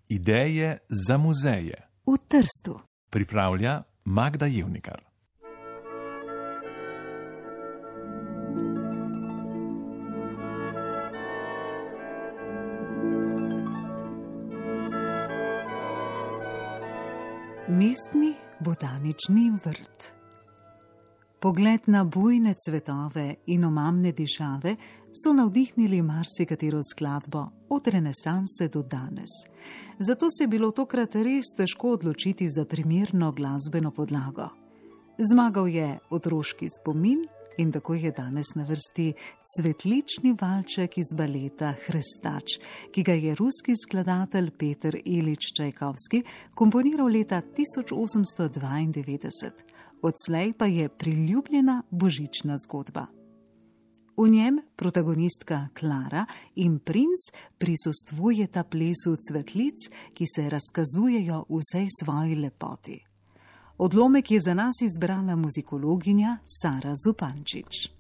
Ideje za muzeje v Trstu. pripravlja Magda Jevnikar. Mestni botanični vrt. Pogled na bujne cvetove in omamne dišave so navdihnili marsikatero skladbo od renesanse do danes. Zato se je bilo tokrat res težko odločiti za primerno glasbeno podlago. Zmagal je otroški spomin in tako je danes na vrsti cvetlični valček iz baleta Hrestač, ki ga je ruski skladatelj Peter Ilič Čajkovski komponiral leta 1892. Odslej pa je priljubljena božična zgodba. V njem protagonistka Klara in princ prisustvujeta plesu cvetlic, ki se razkazujejo v vsej svoji lepoti. Odlomek je za nas izbrala muzikologinja Sara Zupančič.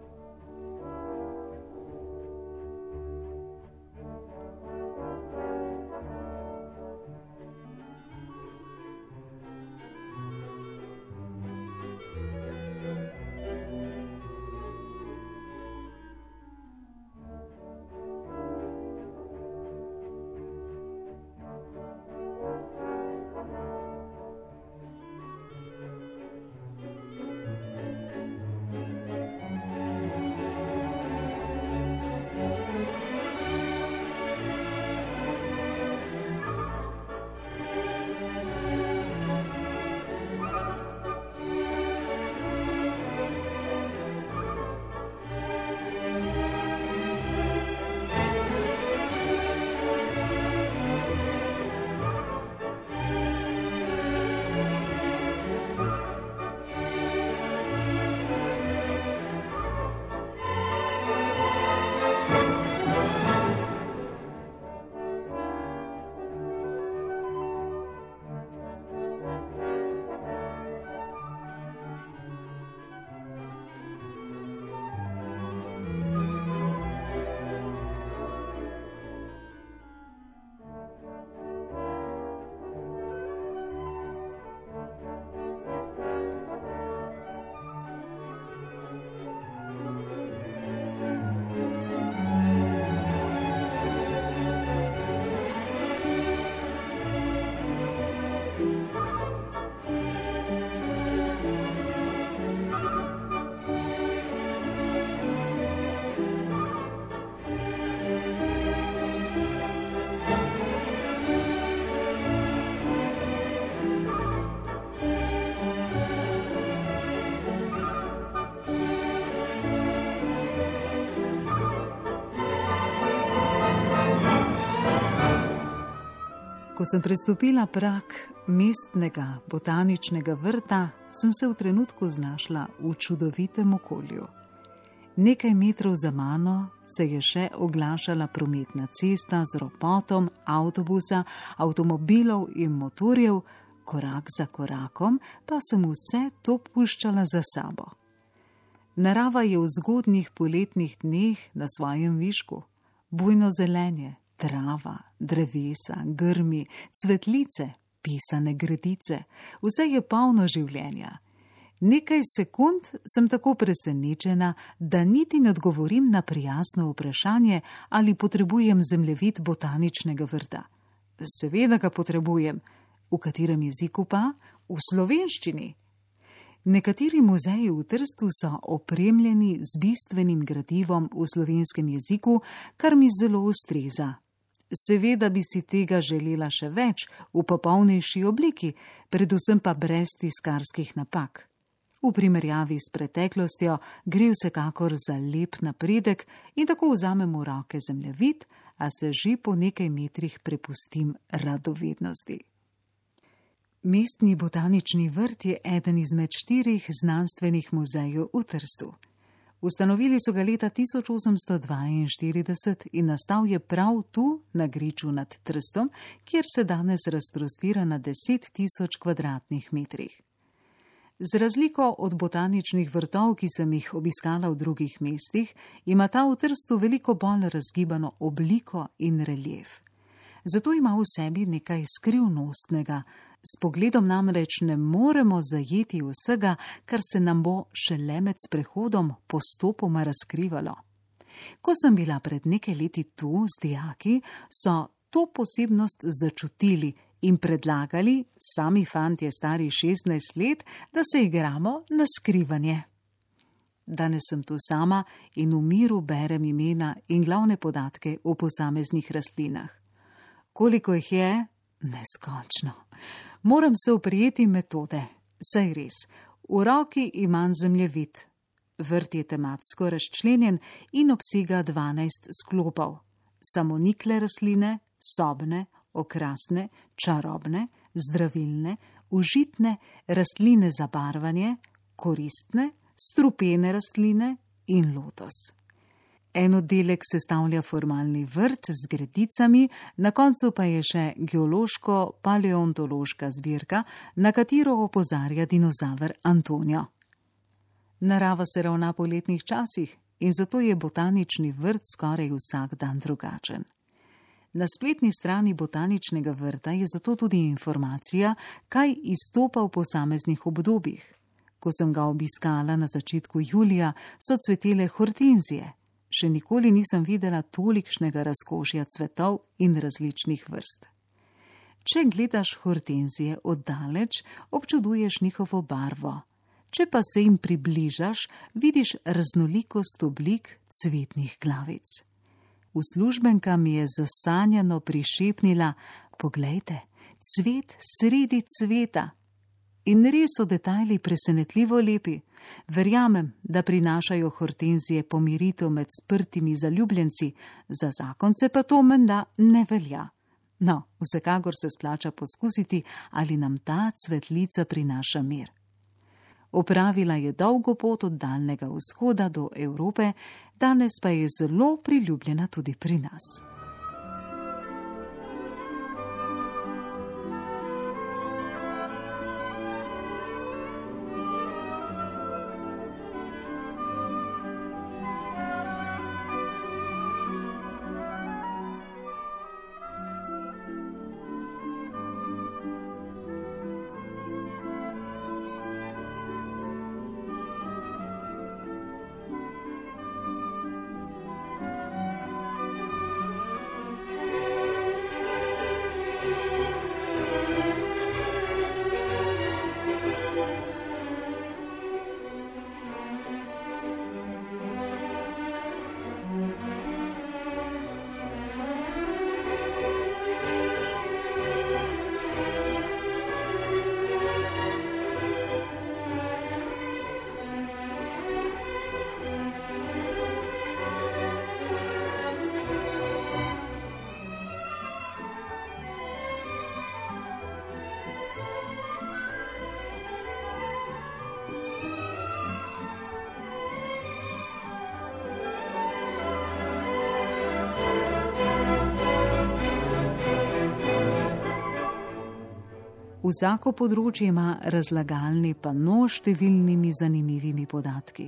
Ko sem prestopila prag mestnega botaničnega vrta, sem se v trenutku znašla v čudovitem okolju. Nekaj metrov za mano se je še oglašala prometna cesta z ropotom avtobusa, avtomobilov in motorjev, korak za korakom pa sem vse to puščala za sabo. Narava je v zgodnjih poletnih dneh na svojem višku. Bujno zelenje, trava, drevesa, grmi, cvetlice, pisane gredice, vse je polno življenja. Nekaj sekund sem tako presenečena, da niti ne odgovorim na prijazno vprašanje, ali potrebujem zemljevid botaničnega vrta. Seveda ga potrebujem. V katerem jeziku pa? V slovenščini. Nekateri muzeji v Trstu so opremljeni z bistvenim gradivom v slovenskem jeziku, kar mi zelo ustreza. Seveda bi si tega želela še več, v popolnejši obliki, predvsem pa brez tiskarskih napak. V primerjavi s preteklostjo gre vsekakor za lep napredek in tako vzamem v roke zemljevid, a se že po nekaj metrih prepustim radovednosti. Mestni botanični vrt je eden izmed 4 znanstvenih muzejev v Trstu. Ustanovili so ga leta 1842 in nastal je prav tu, na griču nad Trstom, kjer se danes razprostira na 10.000 kvadratnih metrih. Z razliko od botaničnih vrtov, ki sem jih obiskala v drugih mestih, ima ta v Trstu veliko bolj razgibano obliko in relief. Zato ima v sebi nekaj skrivnostnega. S pogledom namreč ne moremo zajeti vsega, kar se nam bo šele med sprehodom postopoma razkrivalo. Ko sem bila pred nekaj leti tu z dijaki, so to posebnost začutili in predlagali, sami fantje stari 16 let, da se igramo na skrivanje. Danes sem tu sama in v miru berem imena in glavne podatke o posameznih rastlinah. Koliko jih je? Neskončno. Moram se oprijeti metode. Saj res, v roki imam zemljevid. Vrt je tematsko razčlenjen in obsega 12 sklopov. Samonikle rastline, sobne, okrasne, čarobne, zdravilne, užitne, rastline za barvanje, koristne, strupene rastline in lotos. En oddelek sestavlja formalni vrt z gredicami, na koncu pa je še geološko-paleontološka zbirka, na katero opozarja dinozaver Antonio. Narava se ravna po letnih časih in zato je botanični vrt skoraj vsak dan drugačen. Na spletni strani botaničnega vrta je zato tudi informacija, kaj izstopa v posameznih obdobjih. Ko sem ga obiskala na začetku julija, so cvetele hortenzije. Še nikoli nisem videla tolikšnega razkošja cvetov in različnih vrst. Če gledaš hortenzije oddaleč, občuduješ njihovo barvo. Če pa se jim približaš, vidiš raznolikost oblik cvetnih glavic. Uslužbenka mi je zasanjano prišepnila: "Poglejte, cvet sredi cveta." In res so detajli presenetljivo lepi. Verjamem, da prinašajo hortenzije pomiritev med sprtimi zaljubljenci, za zakonce pa to menda ne velja. No, vsekakor se splača poskusiti, ali nam ta cvetlica prinaša mir. Opravila je dolgo pot od Daljnega vzhoda do Evrope, danes pa je zelo priljubljena tudi pri nas. Vsako področje ima razlagalni pano s številnimi zanimivimi podatki.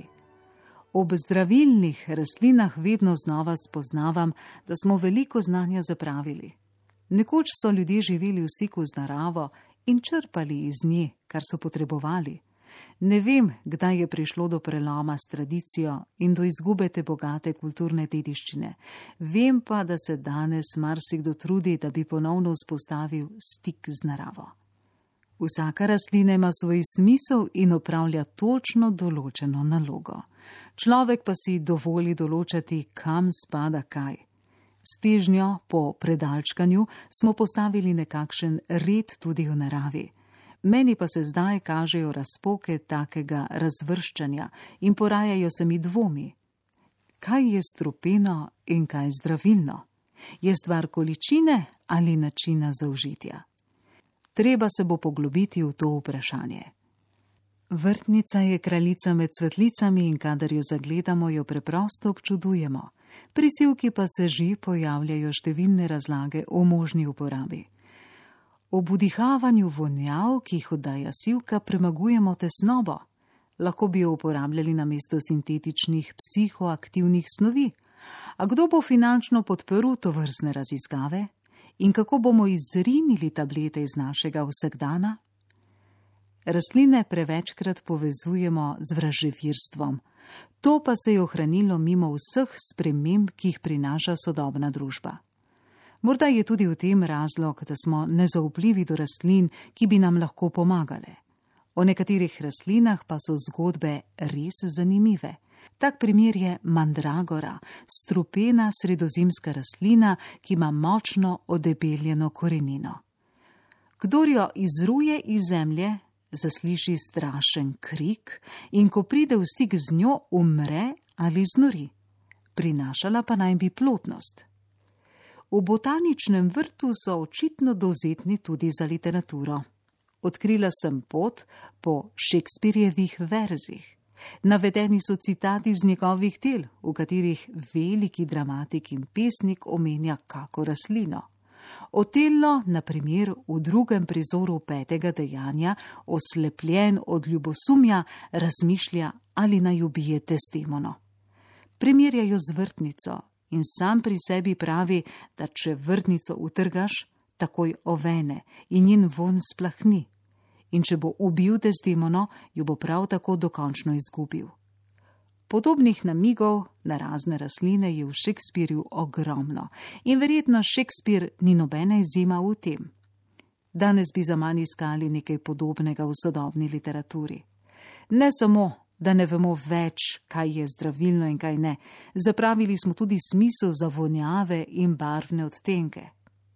Ob zdravilnih rastlinah vedno znova spoznavam, da smo veliko znanja zapravili. Nekoč so ljudje živeli v stiku z naravo in črpali iz nje, kar so potrebovali. Ne vem, kdaj je prišlo do preloma s tradicijo in do izgube te bogate kulturne dediščine. Vem pa, da se danes marsikdo trudi, da bi ponovno vzpostavil stik z naravo. Vsaka rastlina ima svoj smisel in opravlja točno določeno nalogo. Človek pa si dovoli določati, kam spada kaj. S težnjo po predalčkanju smo postavili nekakšen red tudi v naravi. Meni pa se zdaj kažejo razpoke takega razvrščanja in porajajo se mi dvomi. Kaj je strupeno in kaj zdravilno? Je stvar količine ali načina zaužitja? Treba se bo poglobiti v to vprašanje. Vrtnica je kraljica med cvetlicami in kadar jo zagledamo, jo preprosto občudujemo. Pri sivki pa se že pojavljajo številne razlage o možni uporabi. Ob vdihavanju vonjav, ki jih oddaja sivka, premagujemo tesnobo. Lahko bi jo uporabljali namesto sintetičnih psihoaktivnih snovi. A kdo bo finančno podprl tovrstne raziskave? In kako bomo izrinili tablete iz našega vsakdana? Rastline prevečkrat povezujemo z vraževirstvom. To pa se je ohranilo mimo vseh sprememb, ki jih prinaša sodobna družba. Morda je tudi v tem razlog, da smo nezaupljivi do rastlin, ki bi nam lahko pomagale. O nekaterih rastlinah pa so zgodbe res zanimive. Tak primer je mandragora, strupena sredozemska rastlina, ki ima močno odebeljeno korenino. Kdor jo izruje iz zemlje, zasliši strašen krik in ko pride v stik z njo, umre ali znori. Prinašala pa naj bi plodnost. V botaničnem vrtu so očitno dovzetni tudi za literaturo. Odkrila sem pot po Shakespearjevih verzih. Navedeni so citati iz njegovih del, v katerih veliki dramatik in pesnik omenja kako rastlino. Otello, na primer, v drugem prizoru 5. dejanja, oslepljen od ljubosumja, razmišlja, ali naj ubije Desdemono. Primerjajo z vrtnico in sam pri sebi pravi, da če vrtnico utrgaš, takoj ovene in njen vonj splahni. In če bo ubil Desdemono, jo bo prav tako dokončno izgubil. Podobnih namigov na razne rastline je v Shakespearju ogromno in verjetno Shakespeare ni nobena izjema v tem. Danes bi zaman iskali nekaj podobnega v sodobni literaturi. Ne samo, da ne vemo več, kaj je zdravilno in kaj ne, zapravili smo tudi smisel za vonjave in barvne odtenke.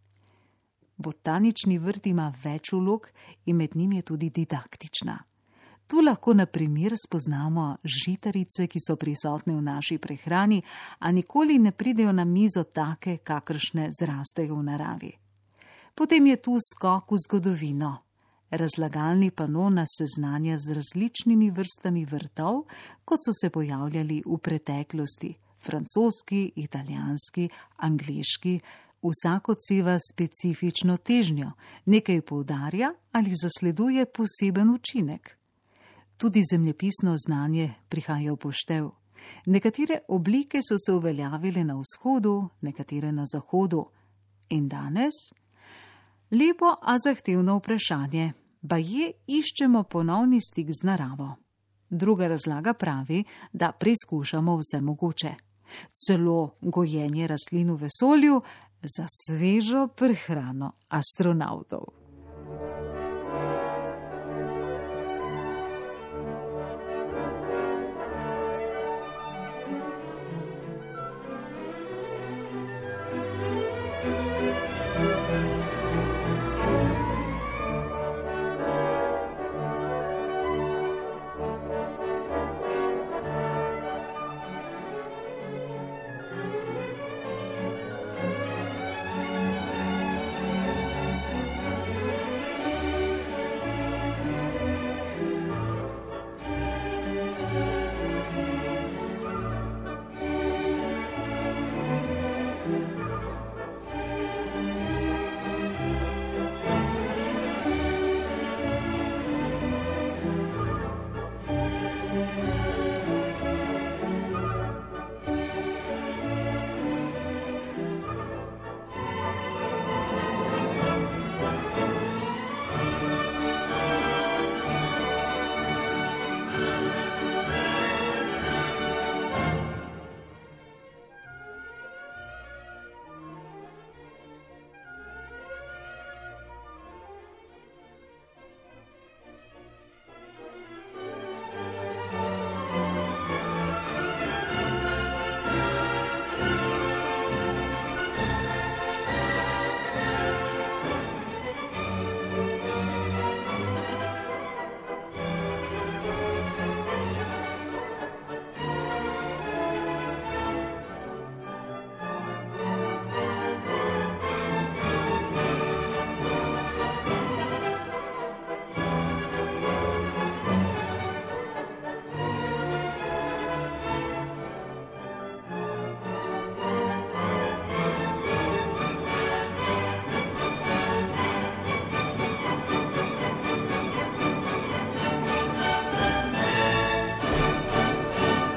Botanični vrt ima več vlog in med njim je tudi didaktična. Tu lahko na primer spoznamo žitarice, ki so prisotne v naši prehrani, a nikoli ne pridejo na mizo take, kakršne zrastejo v naravi. Potem je tu skok v zgodovino. Razlagalni pano nas seznanja z različnimi vrstami vrtov, kot so se pojavljali v preteklosti, francoski, italijanski, angleški. Vsak odseva specifično težnjo, nekaj poudarja ali zasleduje poseben učinek. Tudi zemljepisno znanje prihaja v poštev. Nekatere oblike so se uveljavile na vzhodu, nekatere na zahodu. In danes? Lepo, a zahtevno vprašanje. Baje iščemo ponovni stik z naravo. Druga razlaga pravi, da preizkušamo vse mogoče. Celo gojenje rastlin v vesolju za svežo prehrano astronavtov.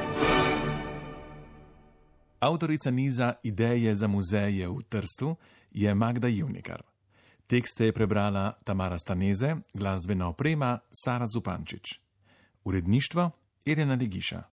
Avtorica niza Ideje za muzeje v Trstu je Magda Jevnikar. Tekste je prebrala Tamara Staneze, glasbena oprema Sara Zupančič. Uredništvo Irena Legiša.